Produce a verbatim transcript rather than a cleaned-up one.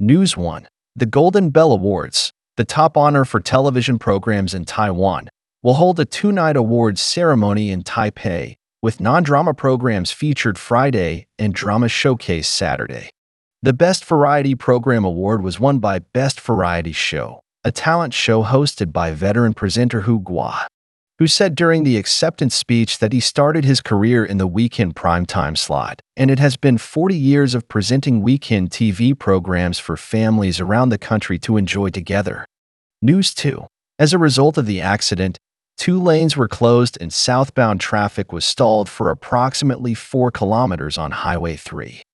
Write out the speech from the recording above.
News one. The Golden Bell Awards, the top honor for television programs in Taiwan, will hold a two-night awards ceremony in Taipei, with non-drama programs featured Friday and drama showcase Saturday. The Best Variety Program Award was won by Best Variety Show, a talent show hosted by veteran presenter Hu Gua, who said during the acceptance speech that he started his career in the weekend primetime slot, and it has been forty years of presenting weekend T V programs for families around the country to enjoy together. News two. As a result of the accident, two lanes were closed and southbound traffic was stalled for approximately four kilometers on Highway three.